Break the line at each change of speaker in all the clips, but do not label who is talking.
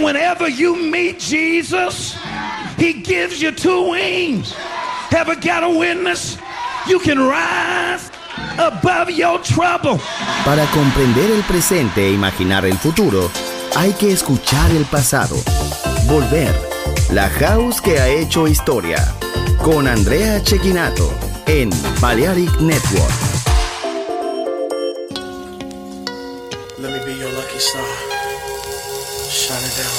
whenever you meet Jesus, he gives you two wings. Ever got a witness? You can rise above your trouble.
Para comprender el presente e imaginar el futuro, hay que escuchar el pasado. Volver. La house que ha hecho historia. Con Andrea Cecchinato en Balearic Network.
Let me be your lucky star. Shine it down.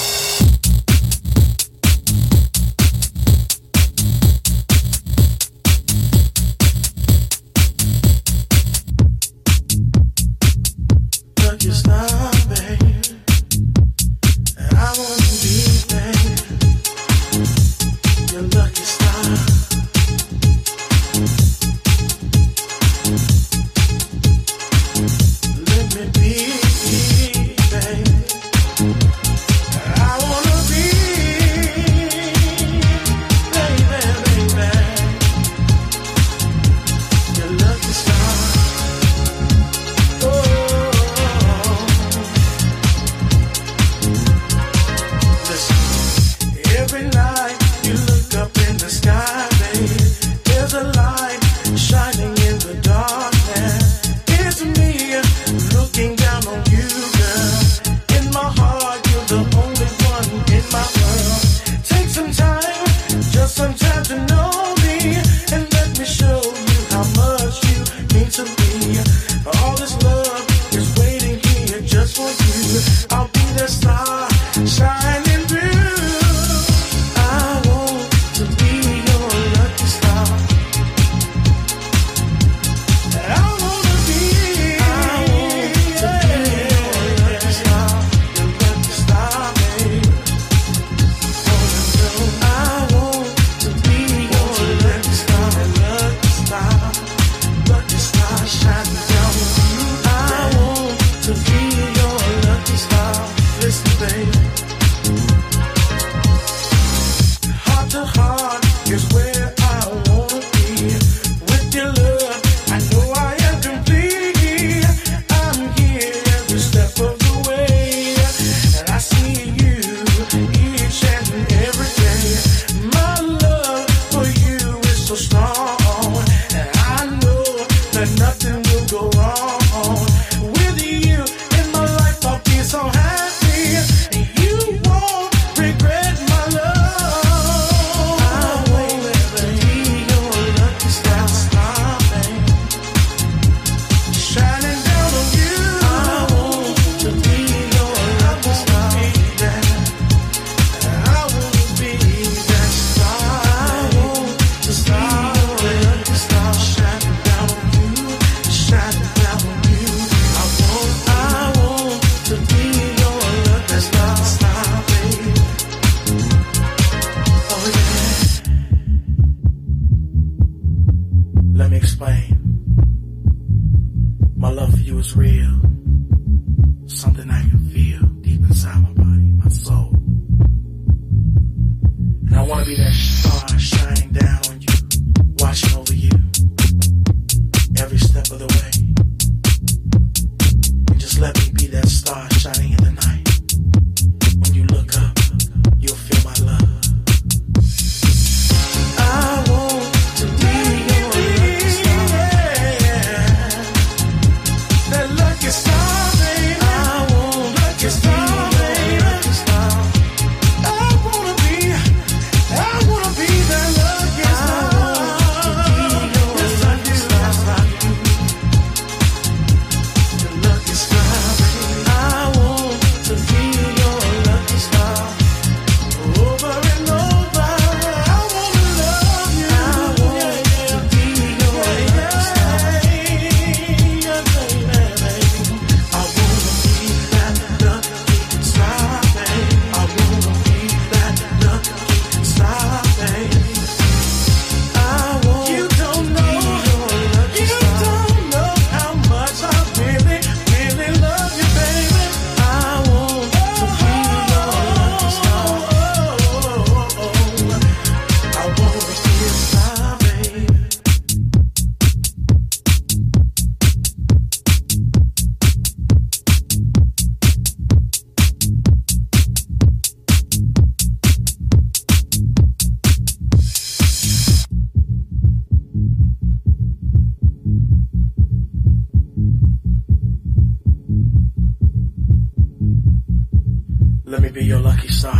Let me be your lucky star.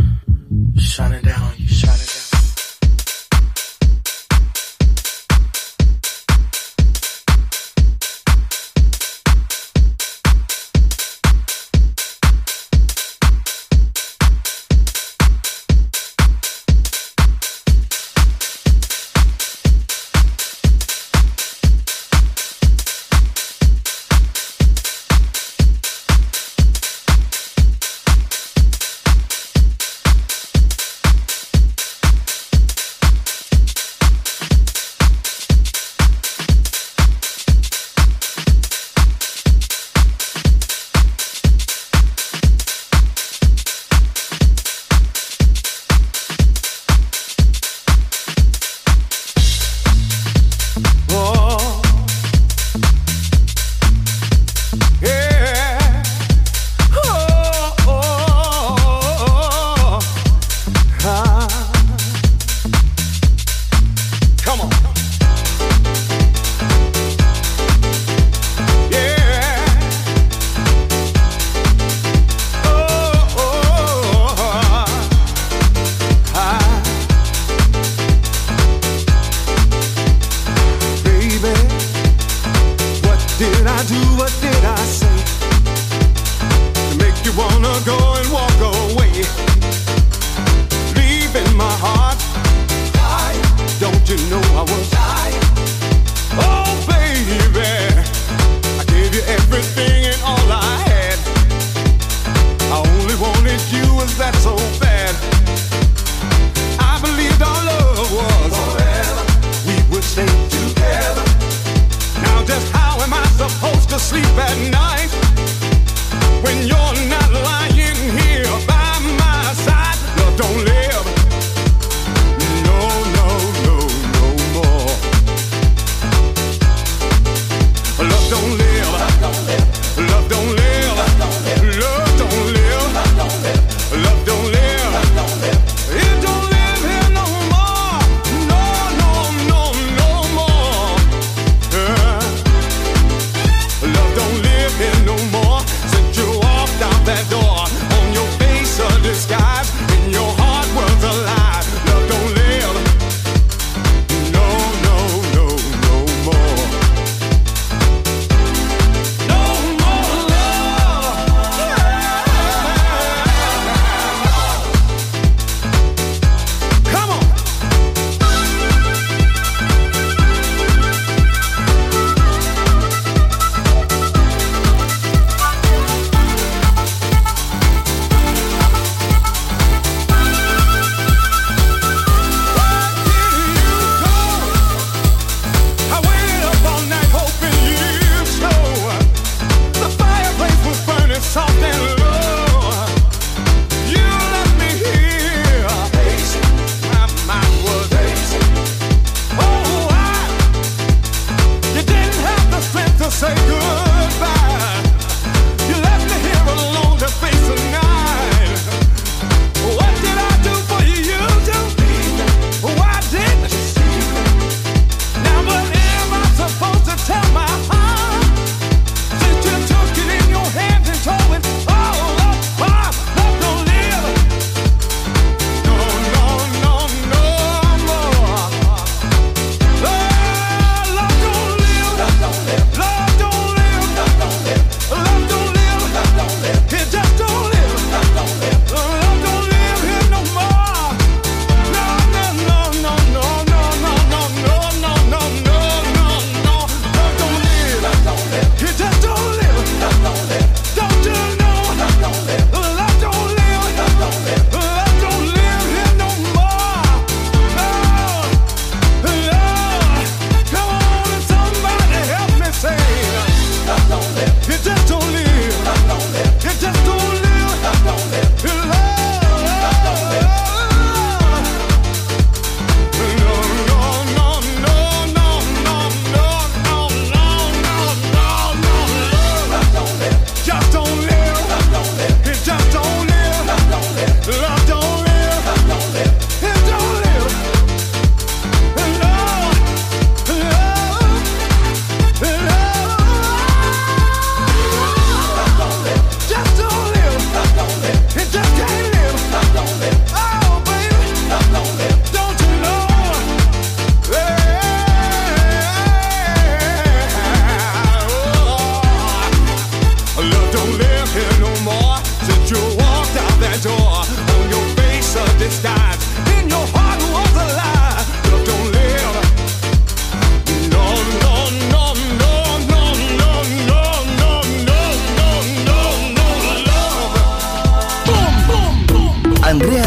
Shining down on you, shining down.
Don't live. No, no, no, no more.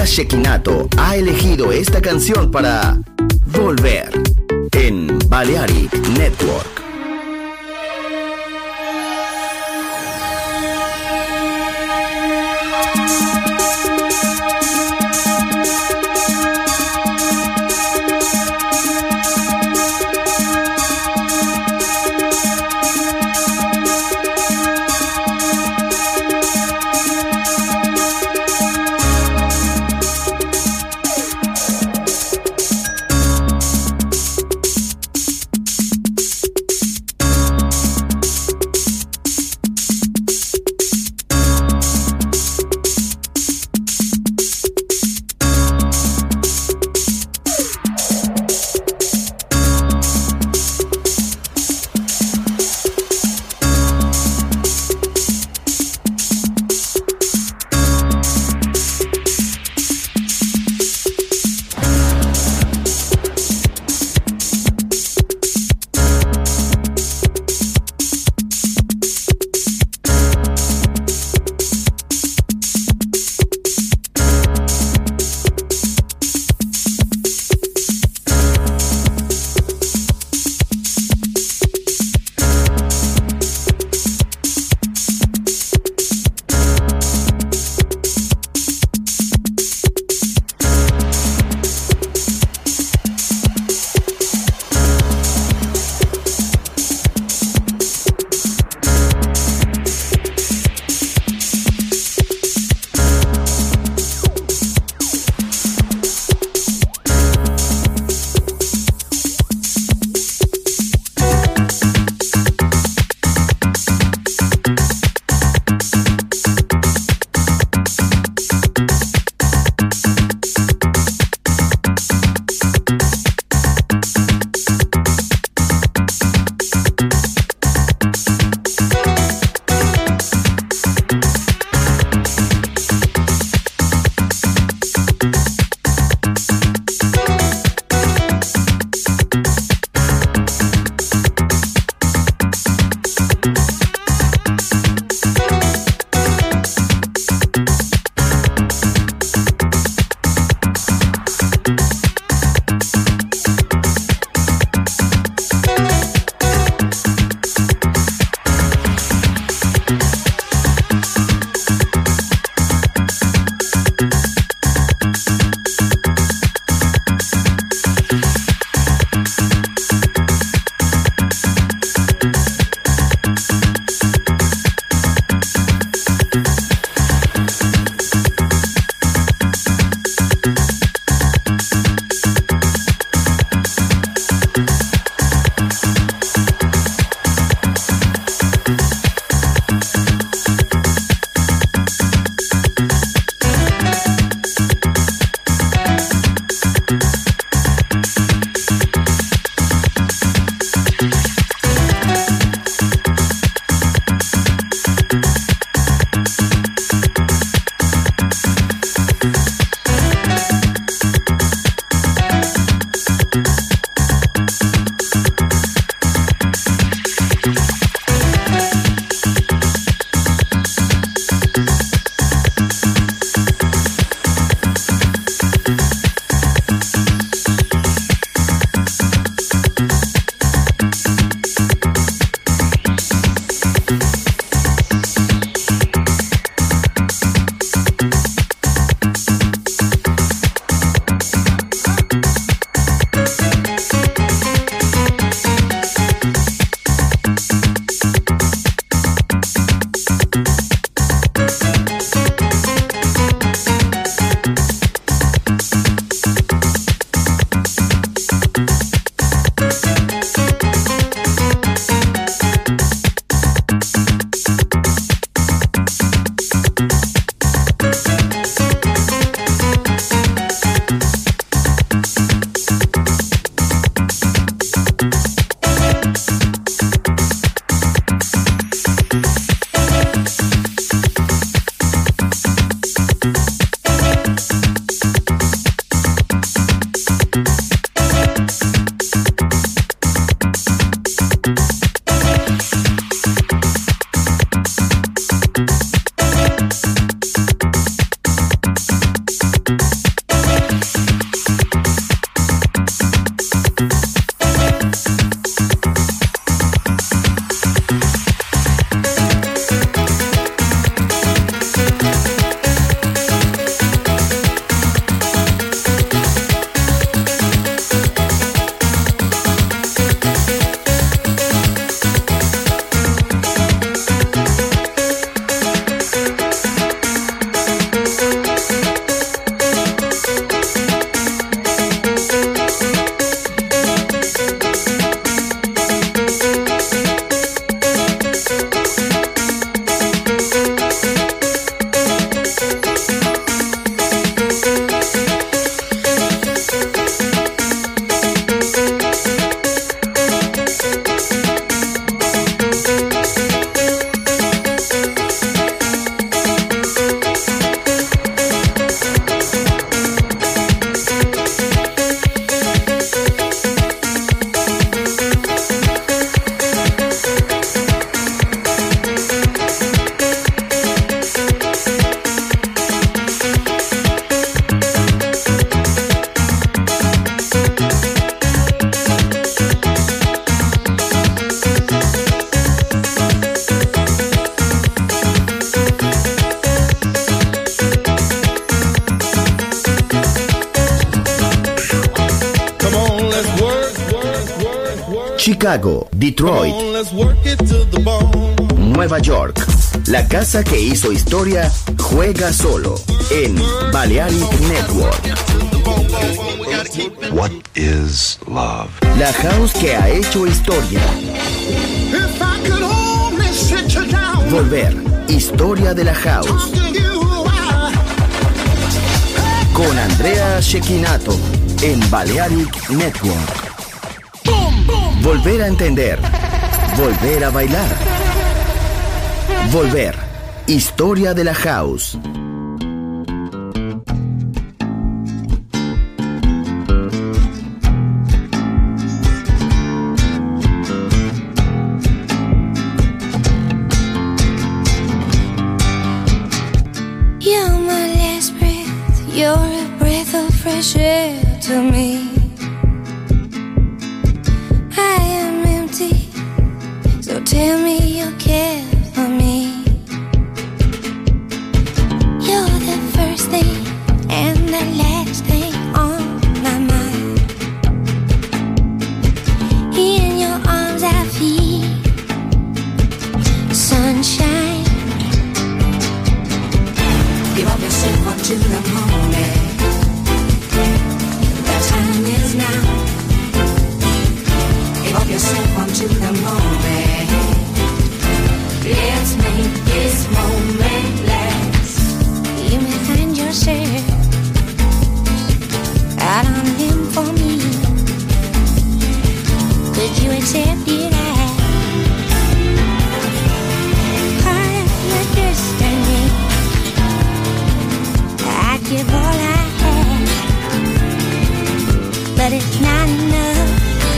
Shekinato ha elegido esta canción para volver en Balearic Network. Chicago, Detroit, Nueva York. La casa que hizo historia juega solo en Balearic Network.
What is love?
La house que ha hecho historia. Volver, historia de la house. Con Andrea Cecchinato en Balearic Network. Volver a entender. Volver a bailar. Volver, historia de la house.
You're my last breath. You're a breath of fresh air to me. I am empty, so tell me you care for me. You're the first thing and the last thing on my mind. In your arms I feel sunshine. Give up yourself unto the moment. The time is now. Give up yourself unto the moment. Let's make this moment last. You may find yourself out on a limb for me. Could you accept it as part of my destiny? I'd give all I have, but it's not enough.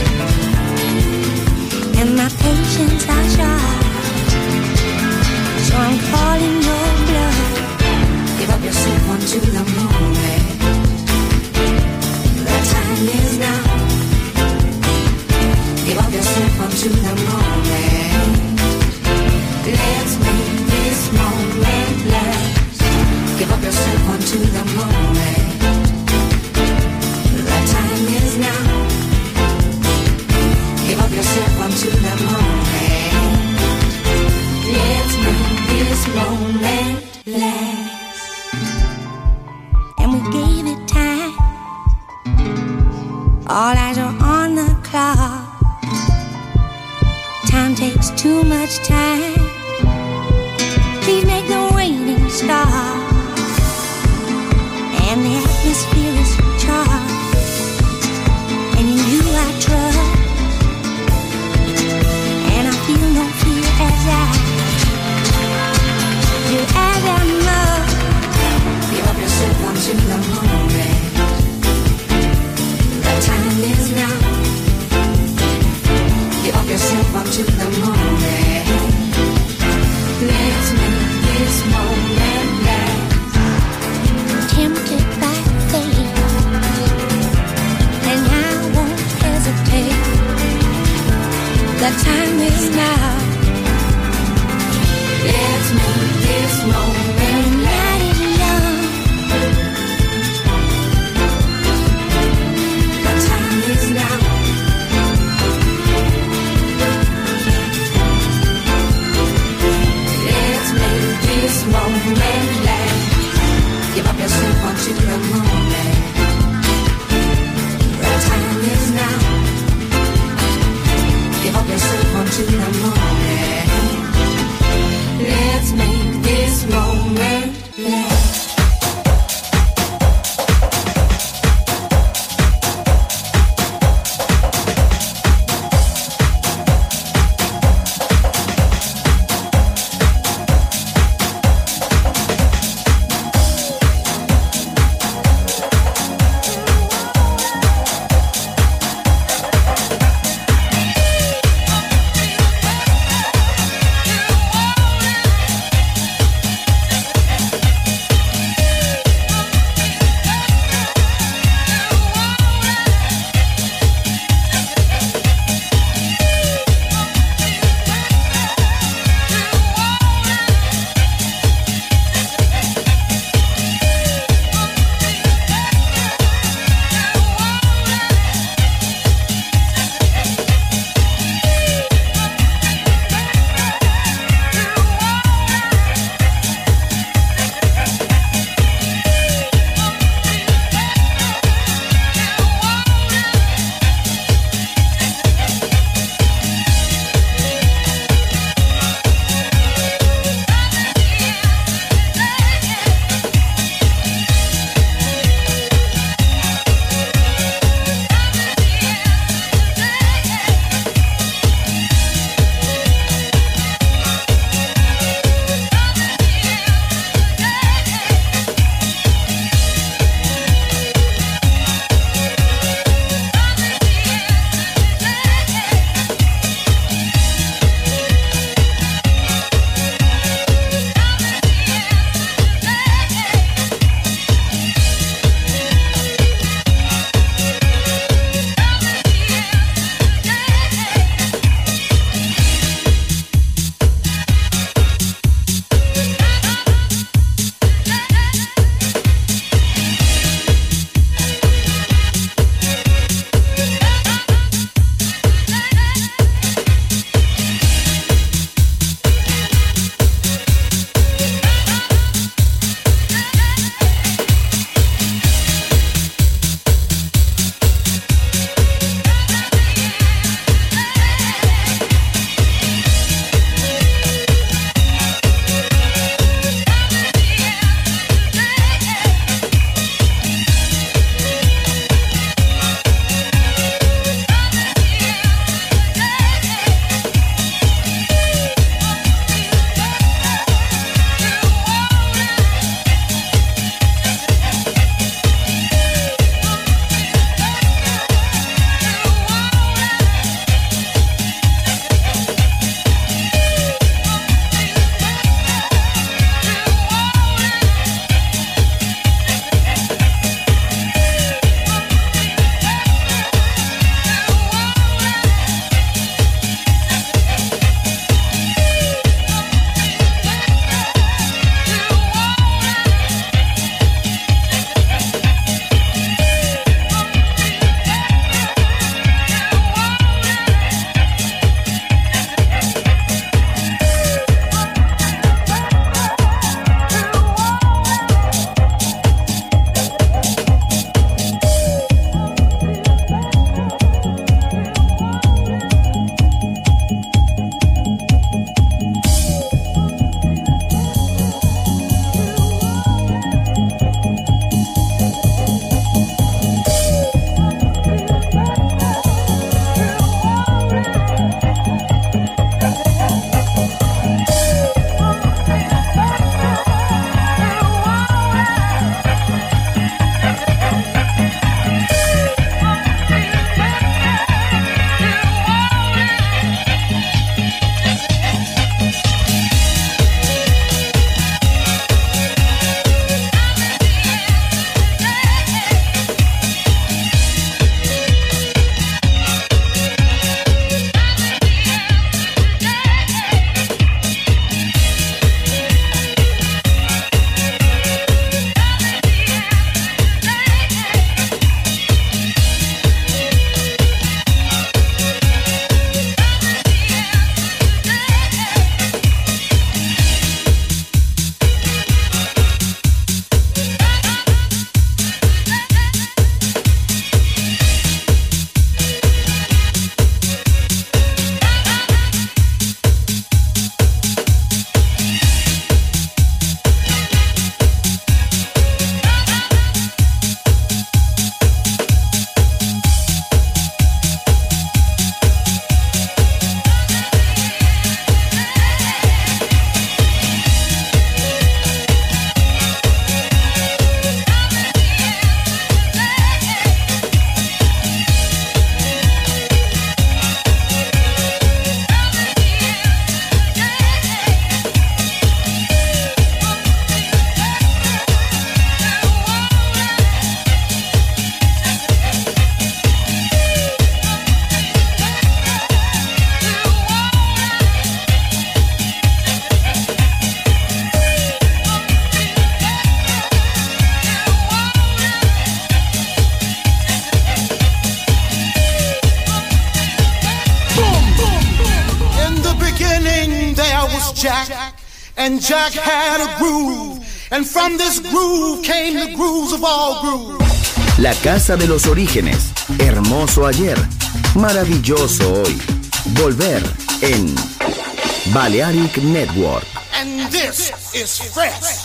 And my patience are short, so I'm calling your bluff. Give up yourself unto the moment. The time is now. Give up yourself unto the moment. Let's make this moment last. Give up yourself unto the moment. The time is now. Give up yourself unto the moment. Let's make this moment last. And we gave it time. All eyes are on the clock. Time takes too much time. Please make the waiting stop. And the atmosphere is charged. And in you I trust. And I feel no fear as I do as I must. Give up yourself unto the moment. The time is now. Give up yourself unto the moment. Let's make this moment last. Tempted by fate.
Jack, and Jack had a groove, and from this groove came the grooves of all grooves.
La casa de los orígenes, hermoso ayer, maravilloso hoy. Volver en Balearic Network.
And this is fresh.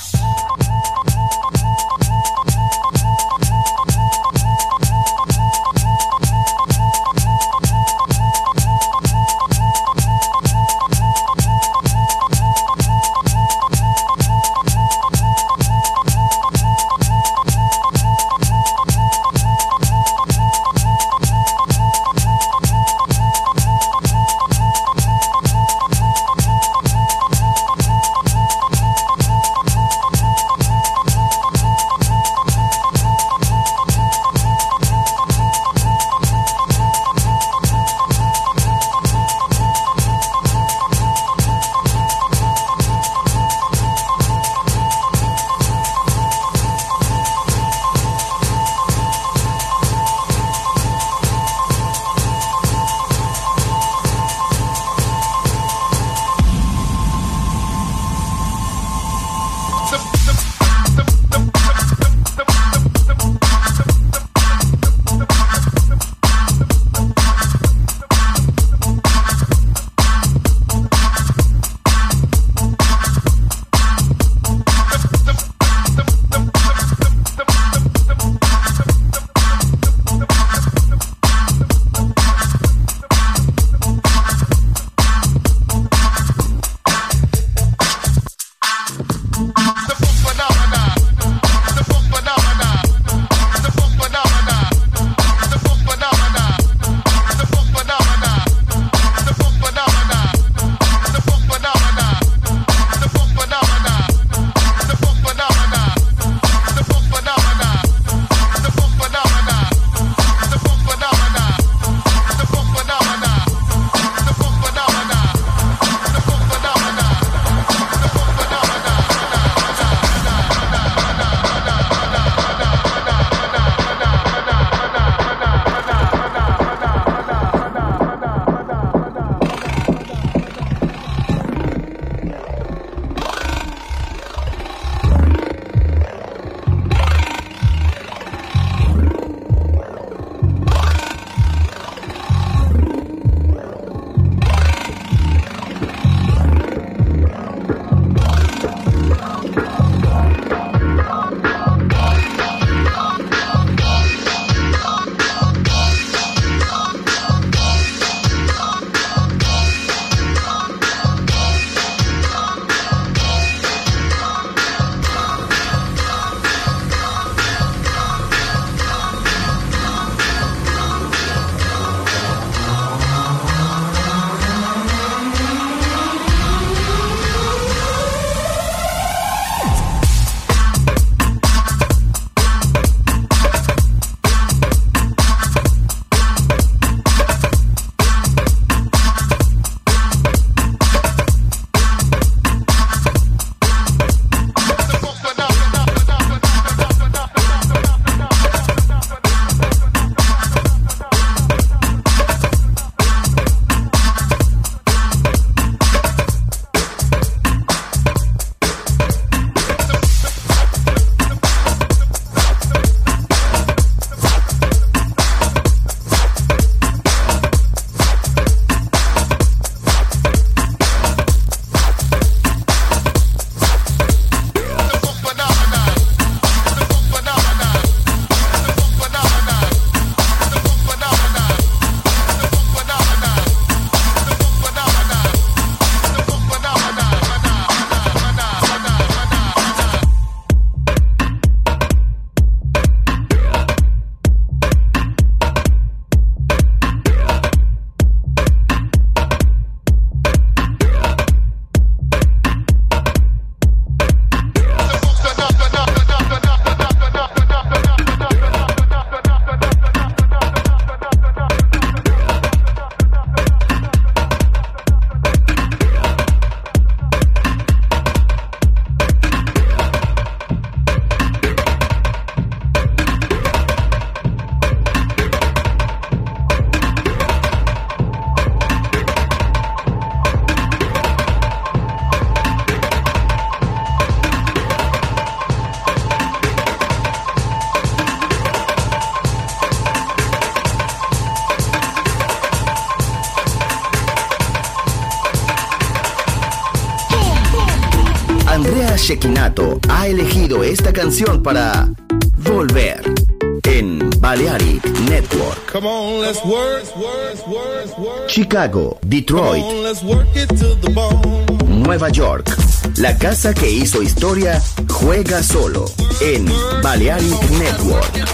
Shekinato ha elegido esta canción para volver en Balearic Network.
Come on, let's work.
Chicago, Detroit,
Come on, let's work it to the bone.
Nueva York. La casa que hizo historia juega solo en Balearic Network.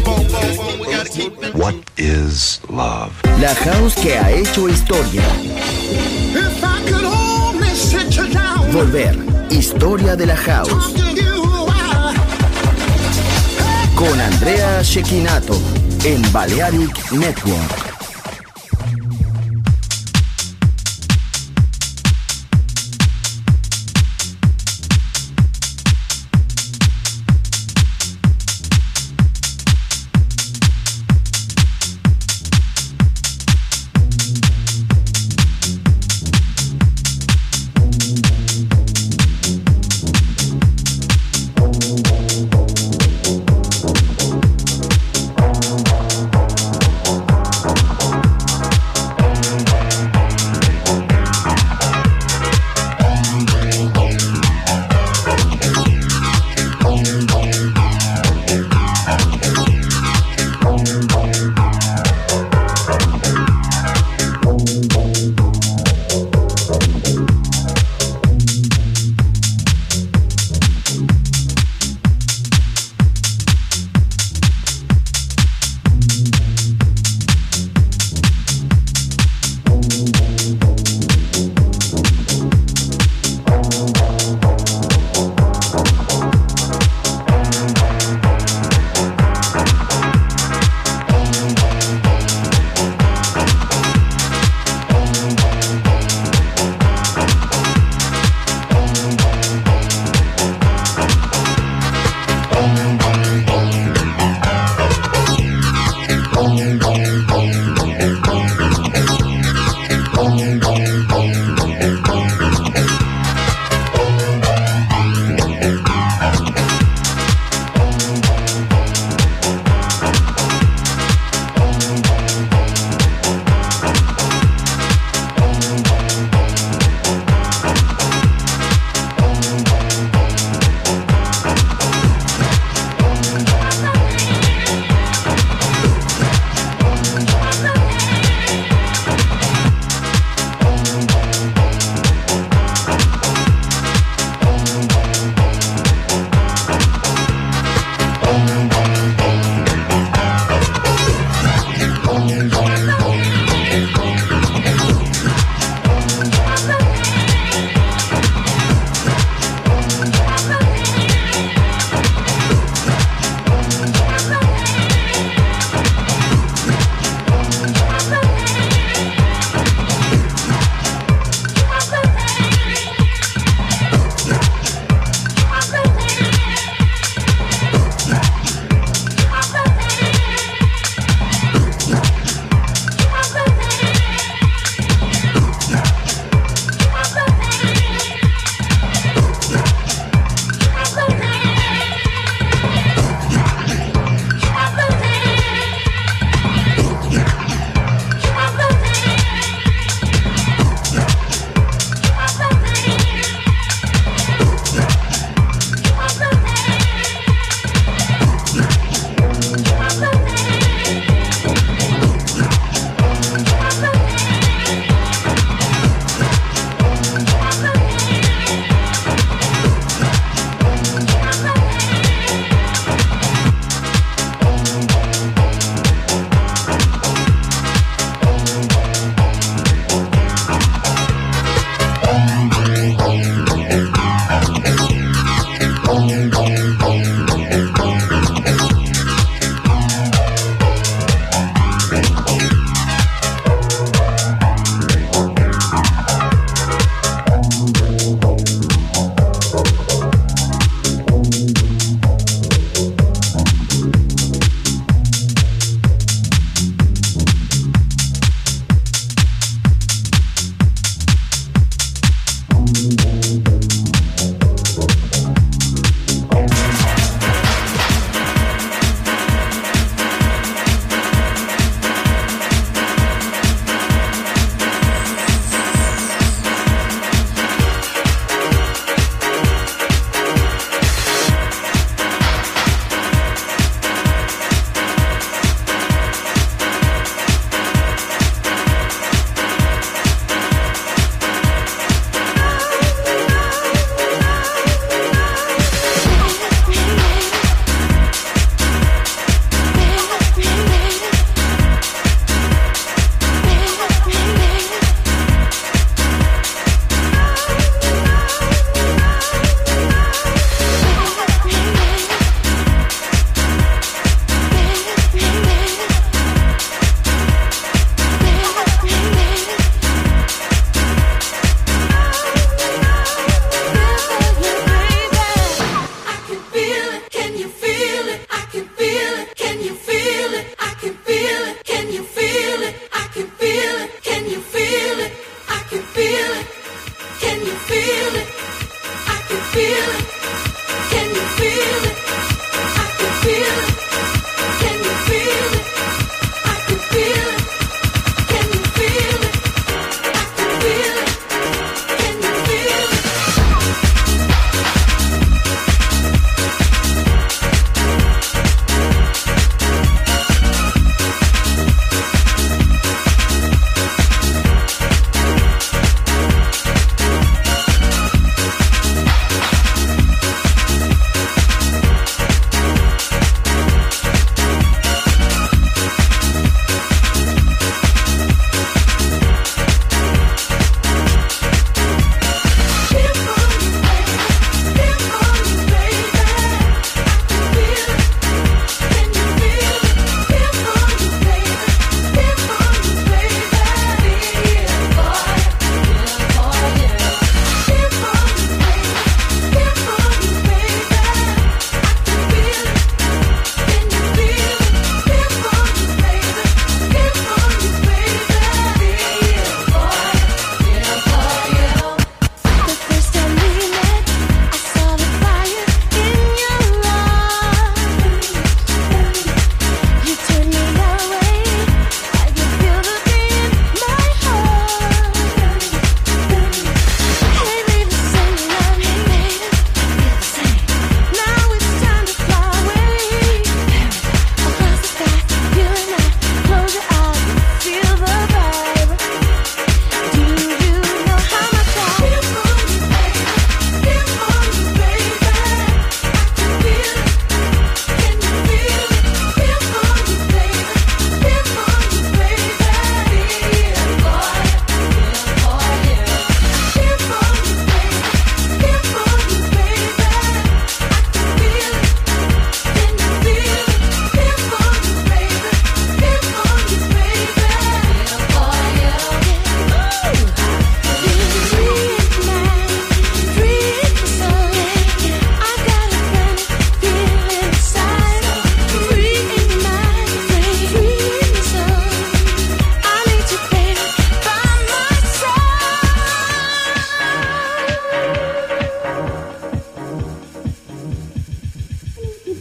What is love?
La house que ha hecho historia.
If I could only sit you down,
Volver, historia de la house.
talk to you,
Con Andrea Shekinato en Balearic Network.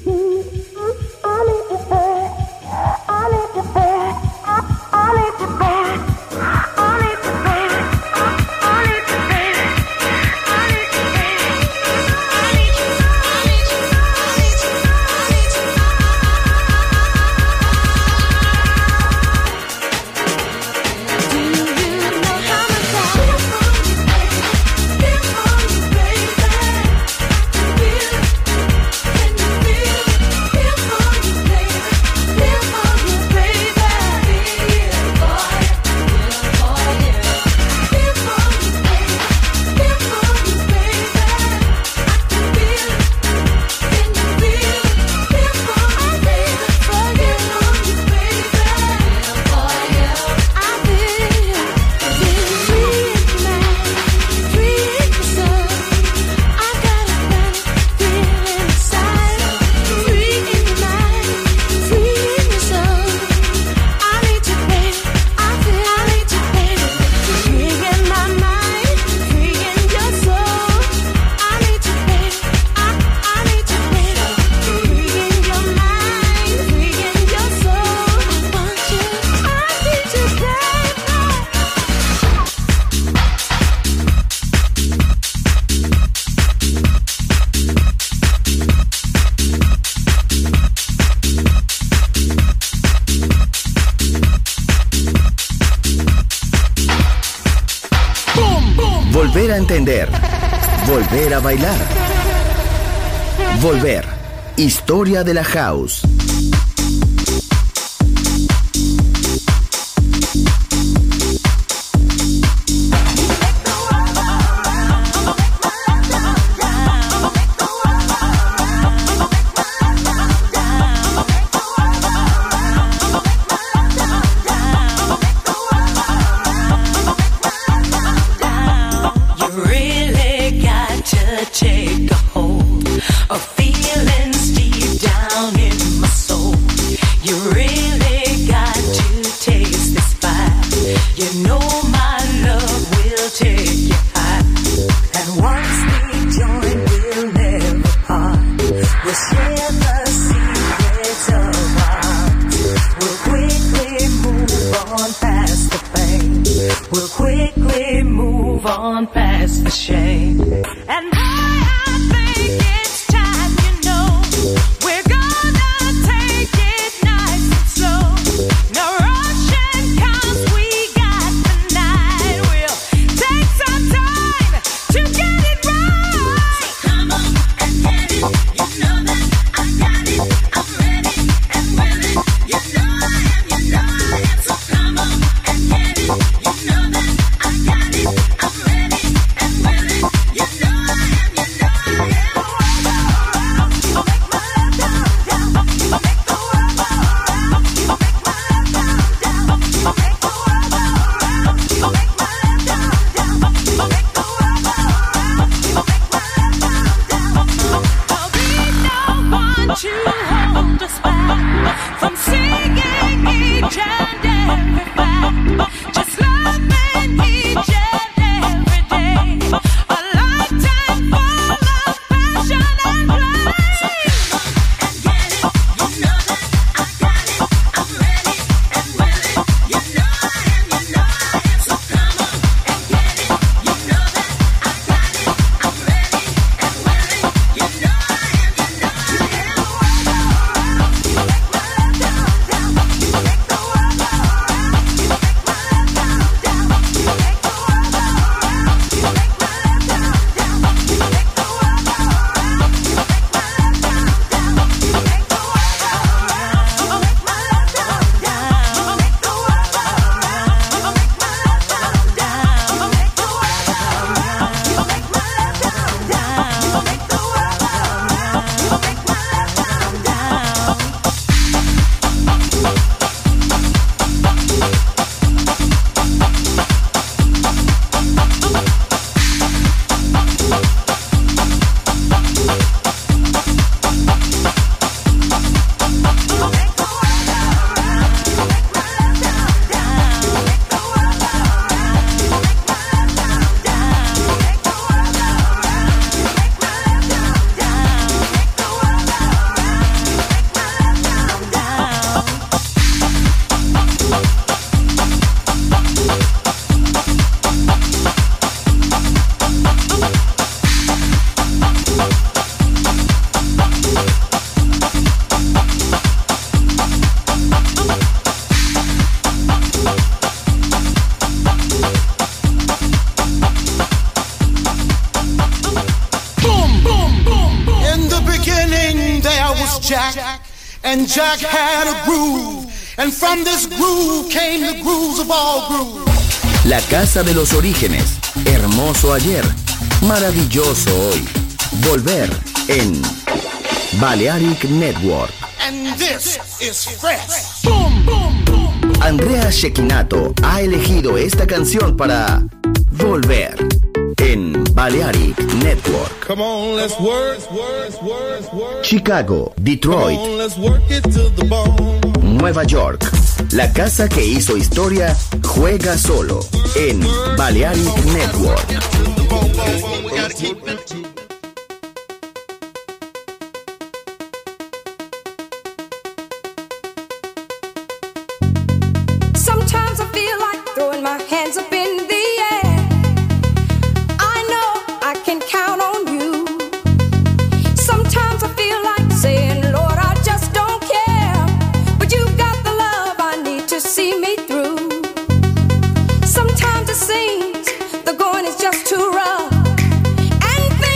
Volver a entender. Volver a bailar. Volver. Historia de la house.
Take a hold of feelings deep down in my soul. You really got to taste this fire. You know my love will take you high. And once we join, we'll never part. We'll share the secrets of our hearts. We'll quickly move on past the pain. We'll quickly move on past the shame. And
and Jack had a groove, and from this groove came the grooves of all grooves.
La casa de los orígenes, hermoso ayer, maravilloso hoy. Volver en Balearic Network.
And this is fresh. Boom, boom, boom.
Andrea Cecchinato ha elegido esta canción para Volver en Balearic Network.
Come on, let's work.
Chicago, Detroit,
Come on, let's work it to the bone.
Nueva York. La casa que hizo historia juega solo en Balearic Network.
Sometimes I feel like throwing my hands up in the air. I know I can count on you. Sometimes I feel like saying, Lord, I just don't care. But you've got the love I need to see me through. Sometimes it seems the going is just too rough, and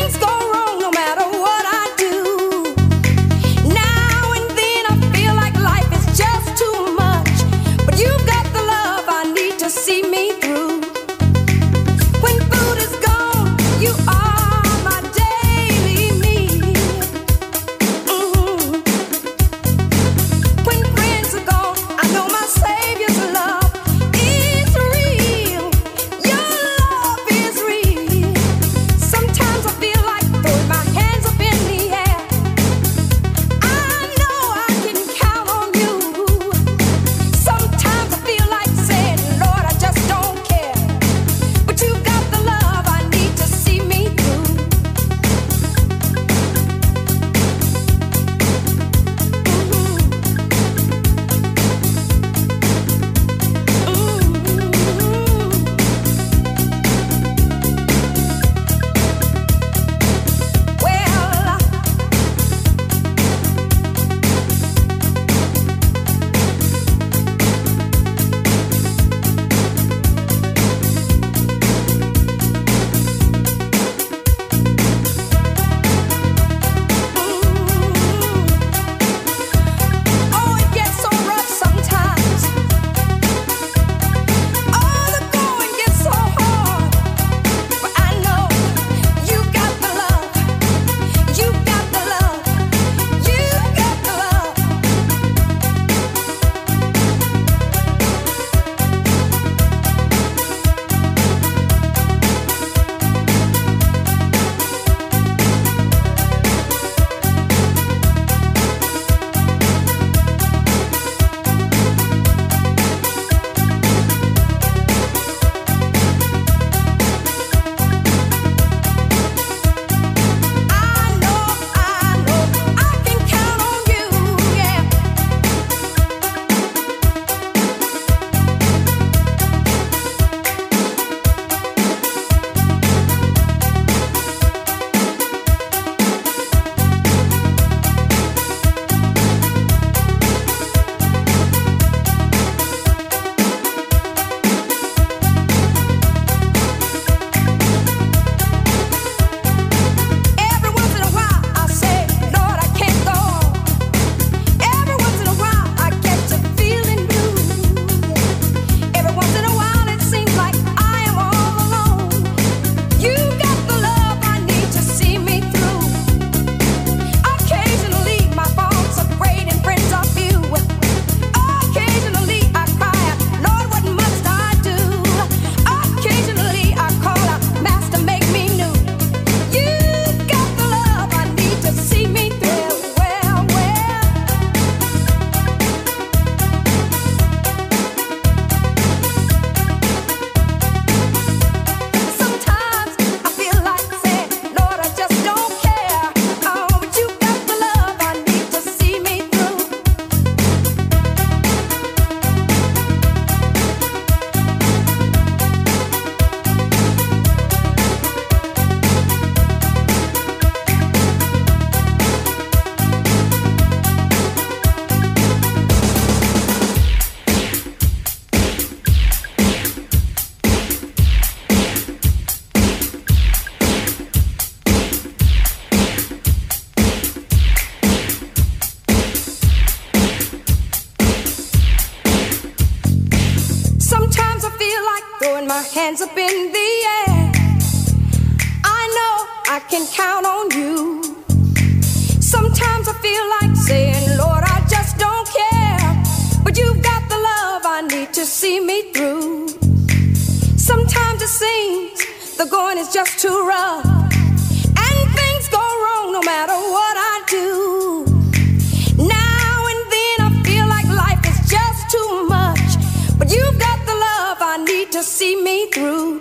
hands up in the air. I know I can count on you. Sometimes I feel like saying, Lord, I just don't care. But you've got the love I need to see me through. Sometimes it seems the going is just too rough, and things go wrong no matter what I do. Now and then I feel like life is just too much, but you've got the love I need to see me through.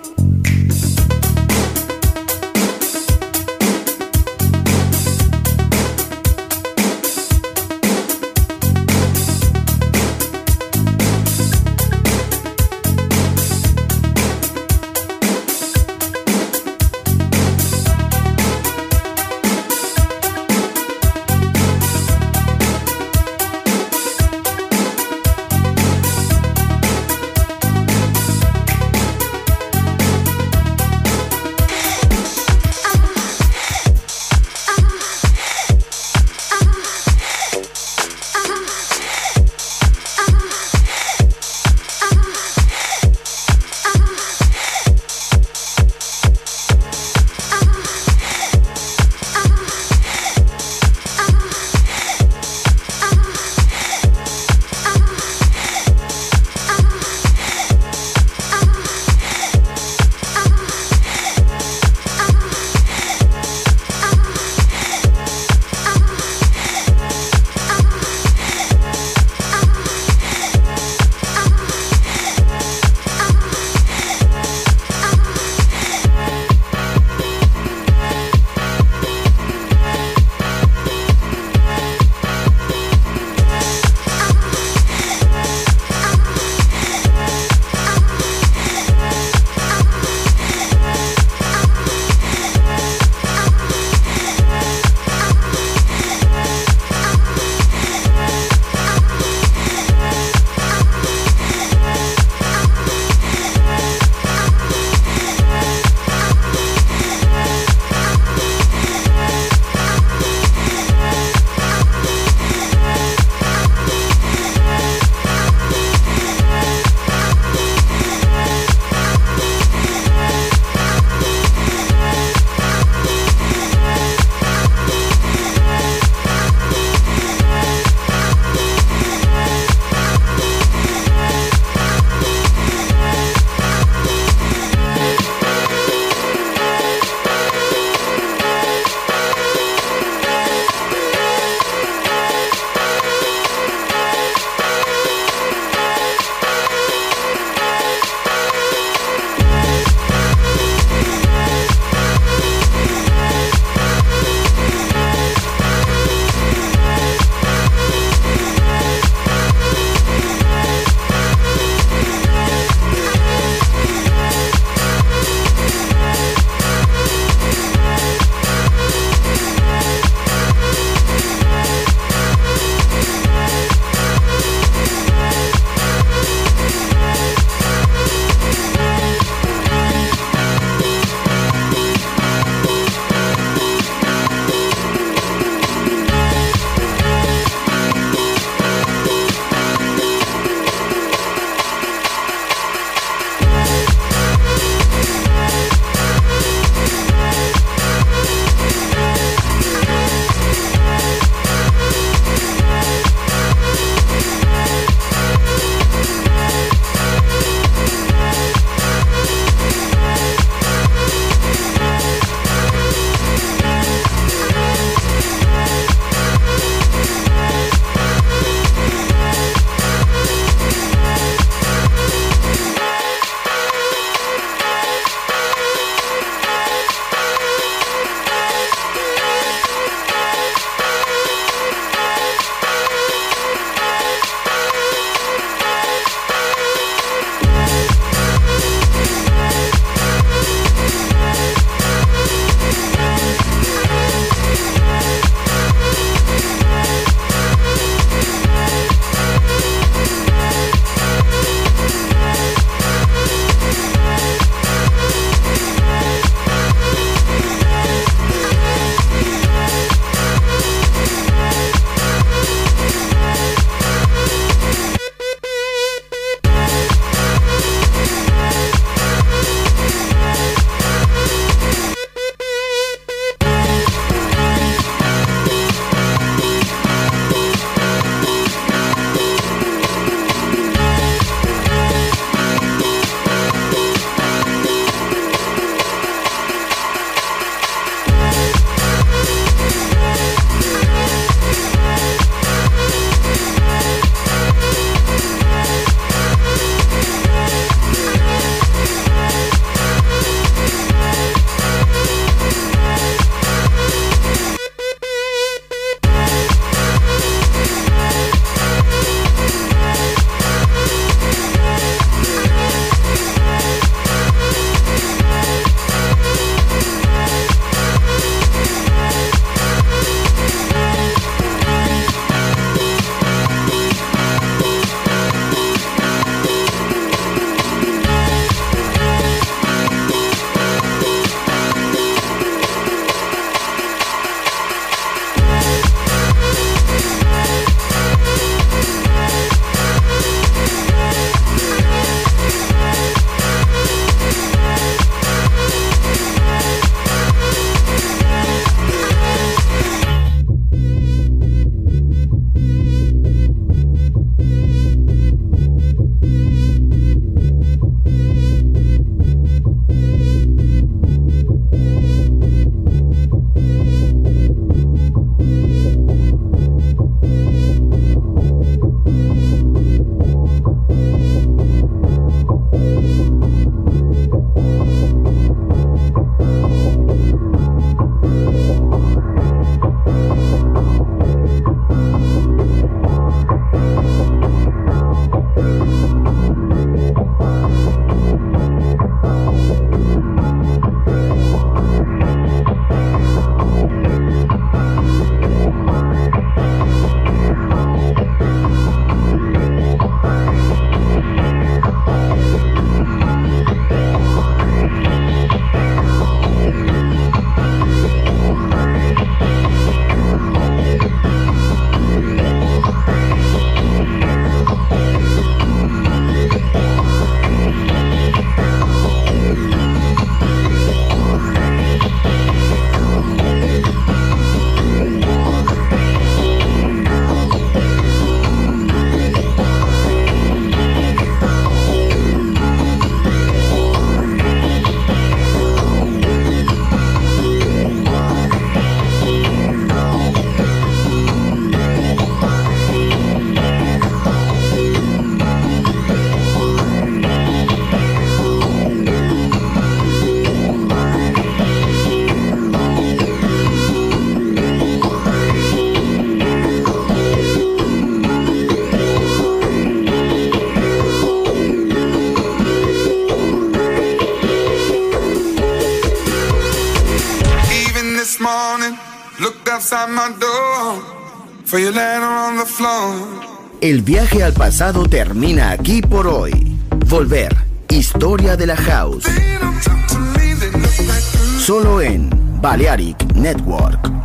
outside my door, for you later on the floor.
El viaje al pasado termina aquí por hoy. Volver, historia de la house. Solo en Balearic Network.